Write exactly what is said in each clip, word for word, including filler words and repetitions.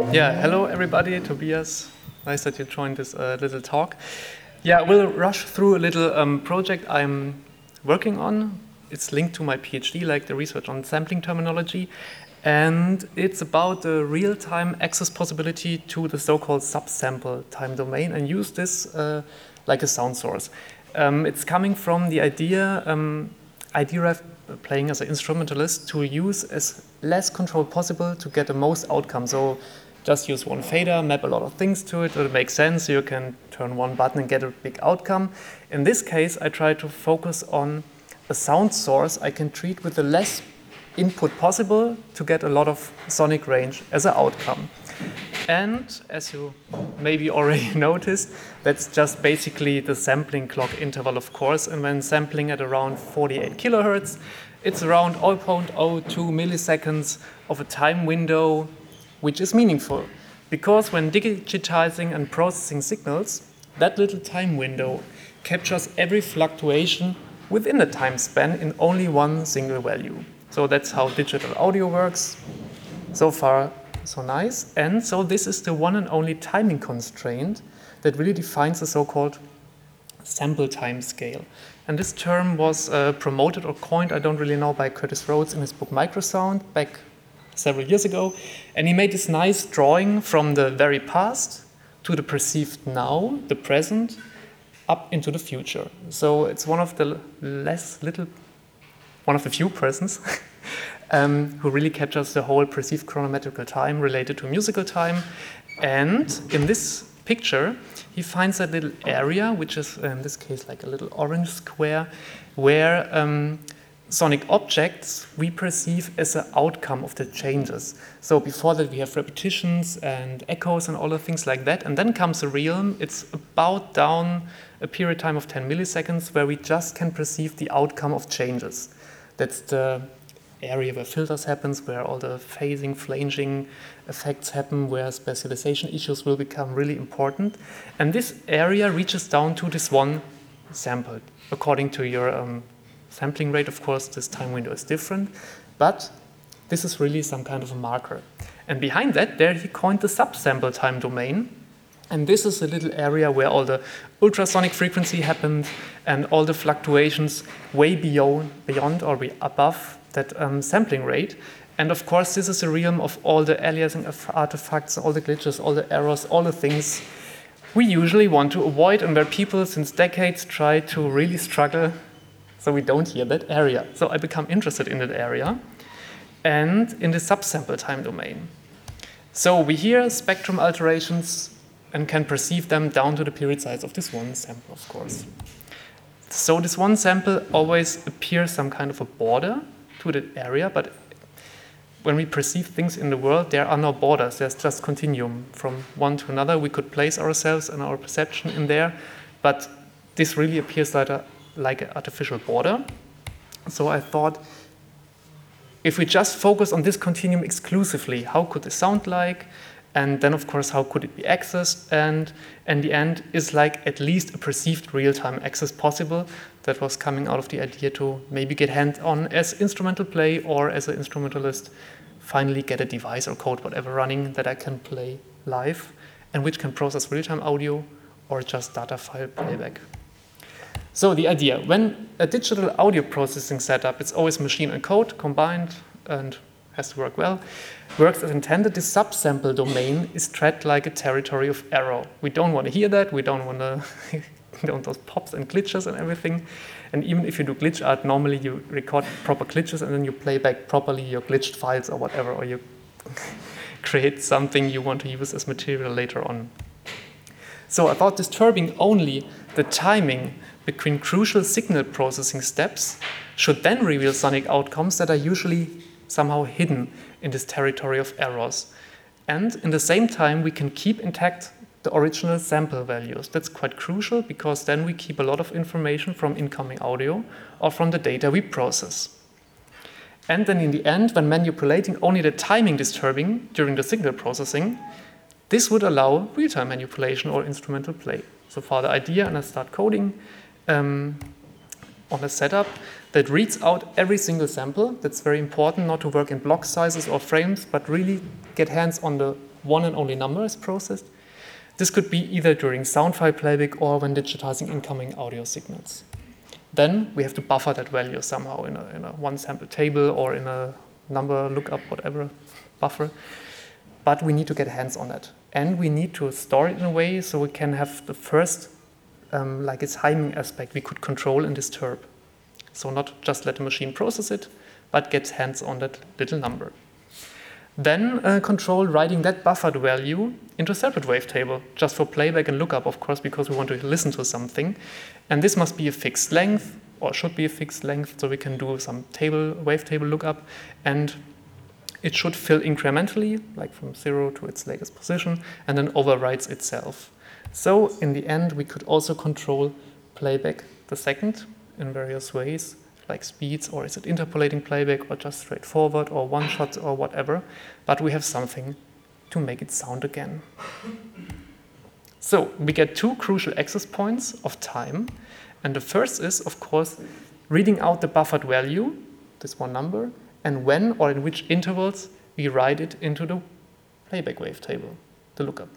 Yeah, hello everybody, Tobias. Nice that you joined this uh, little talk. Yeah, we'll rush through a little um, project I'm working on. It's linked to my PhD, like the research on sampling terminology. And it's about the real-time access possibility to the so-called subsample time domain and use this uh, like a sound source. Um, it's coming from the idea um, I derived playing as an instrumentalist to use as less control possible to get the most outcome. So just use one fader, map a lot of things to it, it'll make sense. You can turn one button and get a big outcome. In this case, I try to focus on a sound source I can treat with the less input possible to get a lot of sonic range as an outcome. And as you maybe already noticed, that's just basically the sampling clock interval, of course. And when sampling at around forty-eight kilohertz, it's around zero point zero two milliseconds of a time window, which is meaningful. Because when digitizing and processing signals, that little time window captures every fluctuation within the time span in only one single value. So that's how digital audio works. So far, so nice. And so this is the one and only timing constraint that really defines the so-called sample time scale. And this term was uh, promoted or coined, I don't really know, by Curtis Rhodes in his book Microsound back several years ago. And he made this nice drawing from the very past to the perceived now, the present, up into the future. So it's one of the less little, one of the few persons um, who really captures the whole perceived chronometrical time related to musical time. And in this picture, he finds a little area, which is in this case like a little orange square, where um, sonic objects we perceive as an outcome of the changes. So before that we have repetitions and echoes and all the things like that. And then comes a realm. It's about down a period time of ten milliseconds where we just can perceive the outcome of changes. That's the area where filters happens, where all the phasing, flanging effects happen, where specialization issues will become really important. And this area reaches down to this one sample. According to your um, sampling rate, of course, this time window is different, but this is really some kind of a marker. And behind that, there he coined the subsample time domain. And this is a little area where all the ultrasonic frequency happened and all the fluctuations way beyond, beyond or above that um, sampling rate. And of course, this is a realm of all the aliasing artifacts, all the glitches, all the errors, all the things we usually want to avoid and where people since decades try to really struggle so we don't hear that area. So I become interested in that area and in the subsample time domain. So we hear spectrum alterations and can perceive them down to the period size of this one sample, of course. So this one sample always appears some kind of a border to the area, but when we perceive things in the world, there are no borders, there's just continuum. From one to another, we could place ourselves and our perception in there, but this really appears like a like an artificial border. So I thought, if we just focus on this continuum exclusively, how could it sound like? And then, of course, how could it be accessed? And in the end, is like at least a perceived real-time access possible that was coming out of the idea to maybe get hands-on as instrumental play or as an instrumentalist, finally get a device or code, whatever running that I can play live and which can process real-time audio or just data file playback. So the idea, when a digital audio processing setup, it's always machine and code combined and has to work well, works as intended, the subsample domain is treated like a territory of error. We don't want to hear that, we don't want to, don't those pops and glitches and everything. And even if you do glitch art, normally you record proper glitches and then you play back properly your glitched files or whatever, or you create something you want to use as material later on. So about disturbing only the timing between crucial signal processing steps should then reveal sonic outcomes that are usually somehow hidden in this territory of errors. And in the same time, we can keep intact the original sample values. That's quite crucial because then we keep a lot of information from incoming audio or from the data we process. And then in the end, when manipulating only the timing disturbing during the signal processing, this would allow real-time manipulation or instrumental play. So far the idea, and I start coding um, on a setup that reads out every single sample. That's very important, not to work in block sizes or frames, but really get hands on the one and only number is processed. This could be either during sound file playback or when digitizing incoming audio signals. Then we have to buffer that value somehow in a, in a one sample table or in a number lookup, whatever buffer. But we need to get hands on that. And we need to store it in a way so we can have the first, um, like its timing aspect, we could control and disturb. So not just let the machine process it, but get hands on that little number. Then uh, control writing that buffered value into a separate wavetable, just for playback and lookup, of course, because we want to listen to something. And this must be a fixed length, or should be a fixed length, so we can do some table, wavetable lookup, and it should fill incrementally, like from zero to its latest position, and then overwrites itself. So in the end, we could also control playback the second in various ways, like speeds, or is it interpolating playback, or just straightforward, or one shot, or whatever. But we have something to make it sound again. So we get two crucial access points of time. And the first is, of course, reading out the buffered value, this one number, and when or in which intervals we write it into the playback wavetable, the lookup.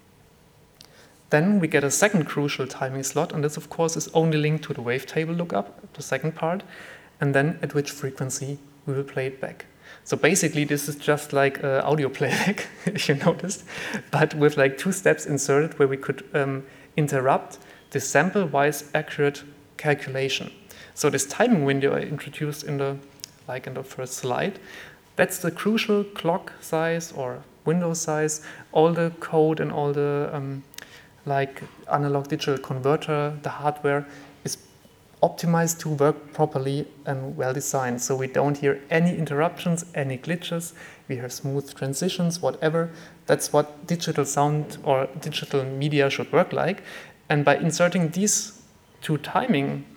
Then we get a second crucial timing slot, and this, of course, is only linked to the wavetable lookup, the second part, and then at which frequency we will play it back. So basically, this is just like uh, audio playback, if you noticed, but with like two steps inserted where we could um, interrupt the sample-wise accurate calculation. So this timing window I introduced in the, like in the first slide, that's the crucial clock size or window size, all the code and all the um, like analog digital converter, the hardware is optimized to work properly and well designed. So we don't hear any interruptions, any glitches. We hear smooth transitions, whatever. That's what digital sound or digital media should work like. And by inserting these two timing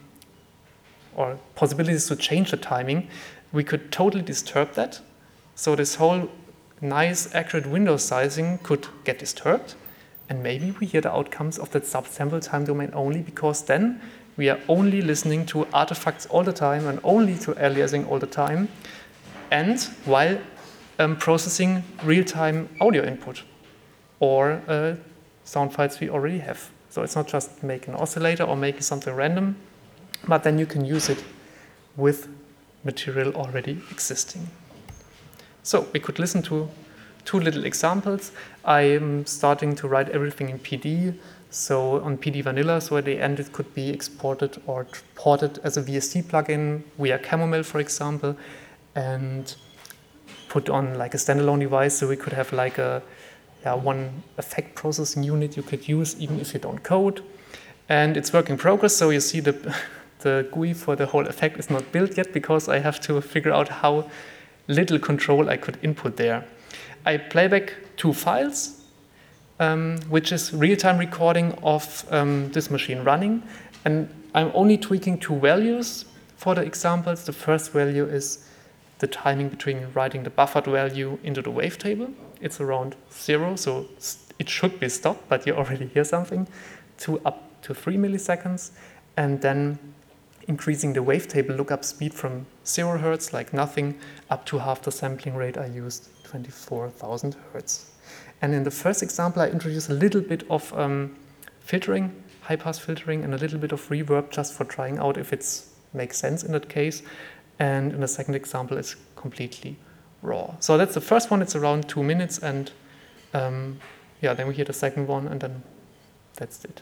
or possibilities to change the timing, we could totally disturb that. So this whole nice, accurate window sizing could get disturbed. And maybe we hear the outcomes of that subsample time domain only, because then we are only listening to artifacts all the time and only to aliasing all the time, and while um, processing real-time audio input or uh, sound files we already have. So it's not just making an oscillator or making something random, but then you can use it with material already existing. So we could listen to two little examples. I'm starting to write everything in P D, so on P D Vanilla, so at the end it could be exported or ported as a V S T plugin via Camomel, for example, and put on like a standalone device, so we could have like a yeah, one effect processing unit you could use even if you don't code. And it's work in progress, so you see the, the G U I for the whole effect is not built yet, because I have to figure out how little control I could input there. I play back two files, um, which is real-time recording of um, this machine running. And I'm only tweaking two values for the examples. The first value is the timing between writing the buffered value into the wavetable. It's around zero, so it should be stopped, but you already hear something, to up to three milliseconds. And then increasing the wavetable lookup speed from zero hertz, like nothing, up to half the sampling rate I used, twenty-four thousand hertz. And in the first example, I introduced a little bit of um, filtering, high-pass filtering, and a little bit of reverb just for trying out if it makes sense in that case. And in the second example, it's completely raw. So that's the first one. It's around two minutes. And um, yeah, then we hear the second one, and then that's it.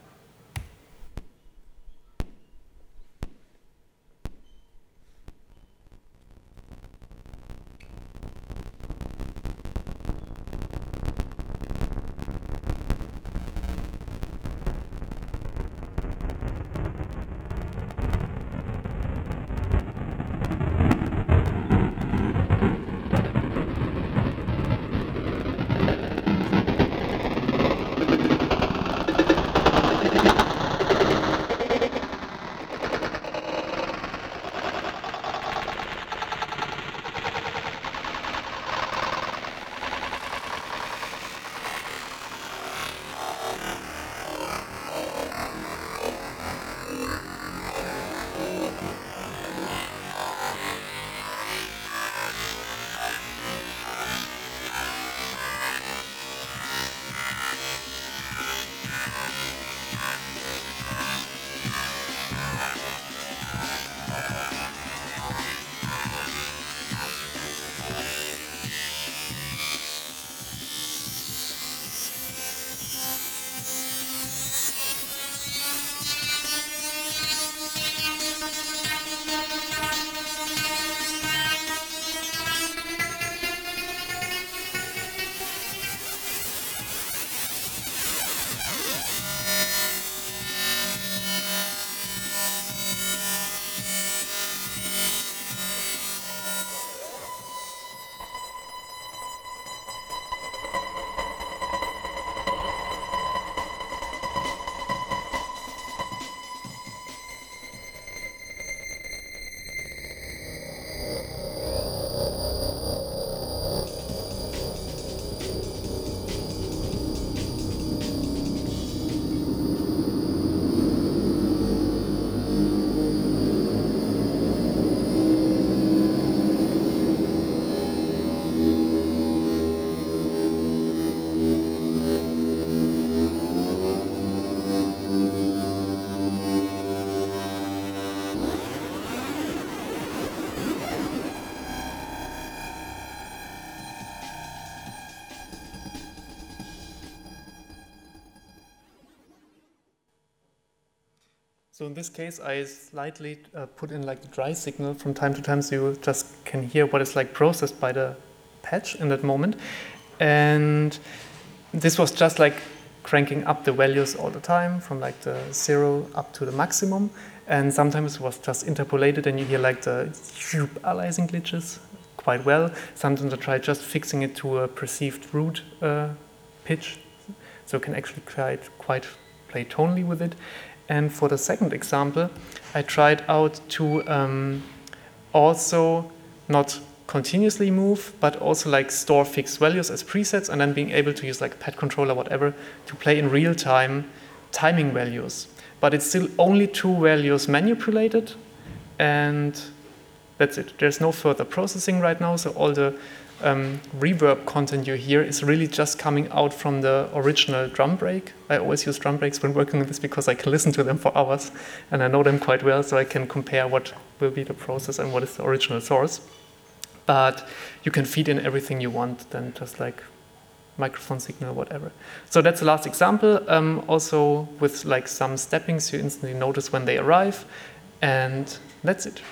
So in this case, I slightly uh, put in like the dry signal from time to time, so you just can hear what is like processed by the patch in that moment. And this was just like cranking up the values all the time from like the zero up to the maximum. And sometimes it was just interpolated and you hear like the aliasing glitches quite well. Sometimes I try just fixing it to a perceived root uh, pitch, so you can actually quite, quite play tonally with it. And for the second example, I tried out to um, also not continuously move, but also like store fixed values as presets and then being able to use like pad controller, whatever, to play in real time timing values. But it's still only two values manipulated, and that's it. There's no further processing right now, so all the um, reverb content you hear is really just coming out from the original drum break. I always use drum breaks when working on this because I can listen to them for hours and I know them quite well, so I can compare what will be the process and what is the original source. But you can feed in everything you want, then just like microphone signal, whatever. So that's the last example. Um, also with like some steppings, you instantly notice when they arrive, and that's it.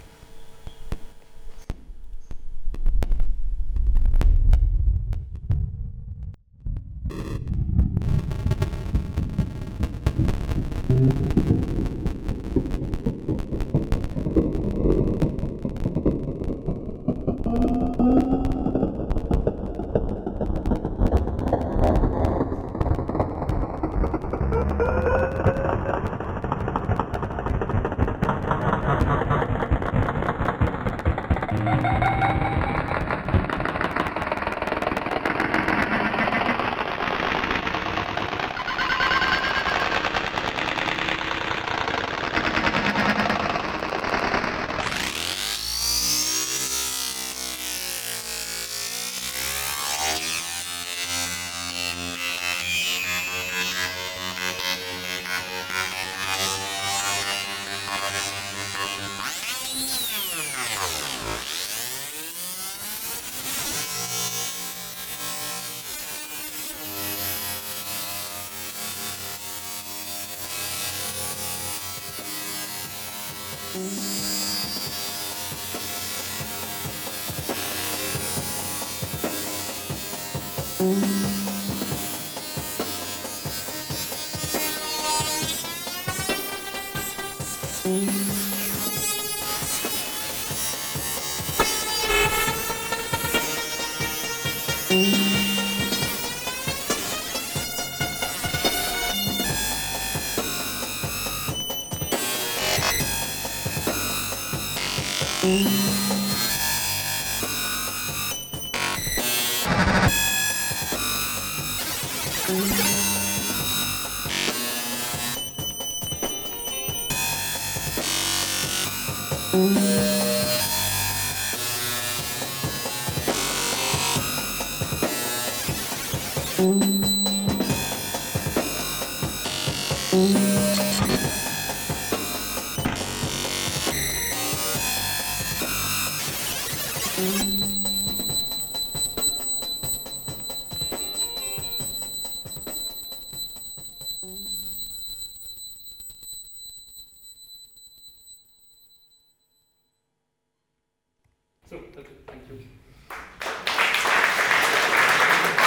So, that's it.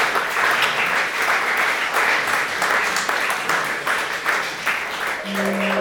Thank you.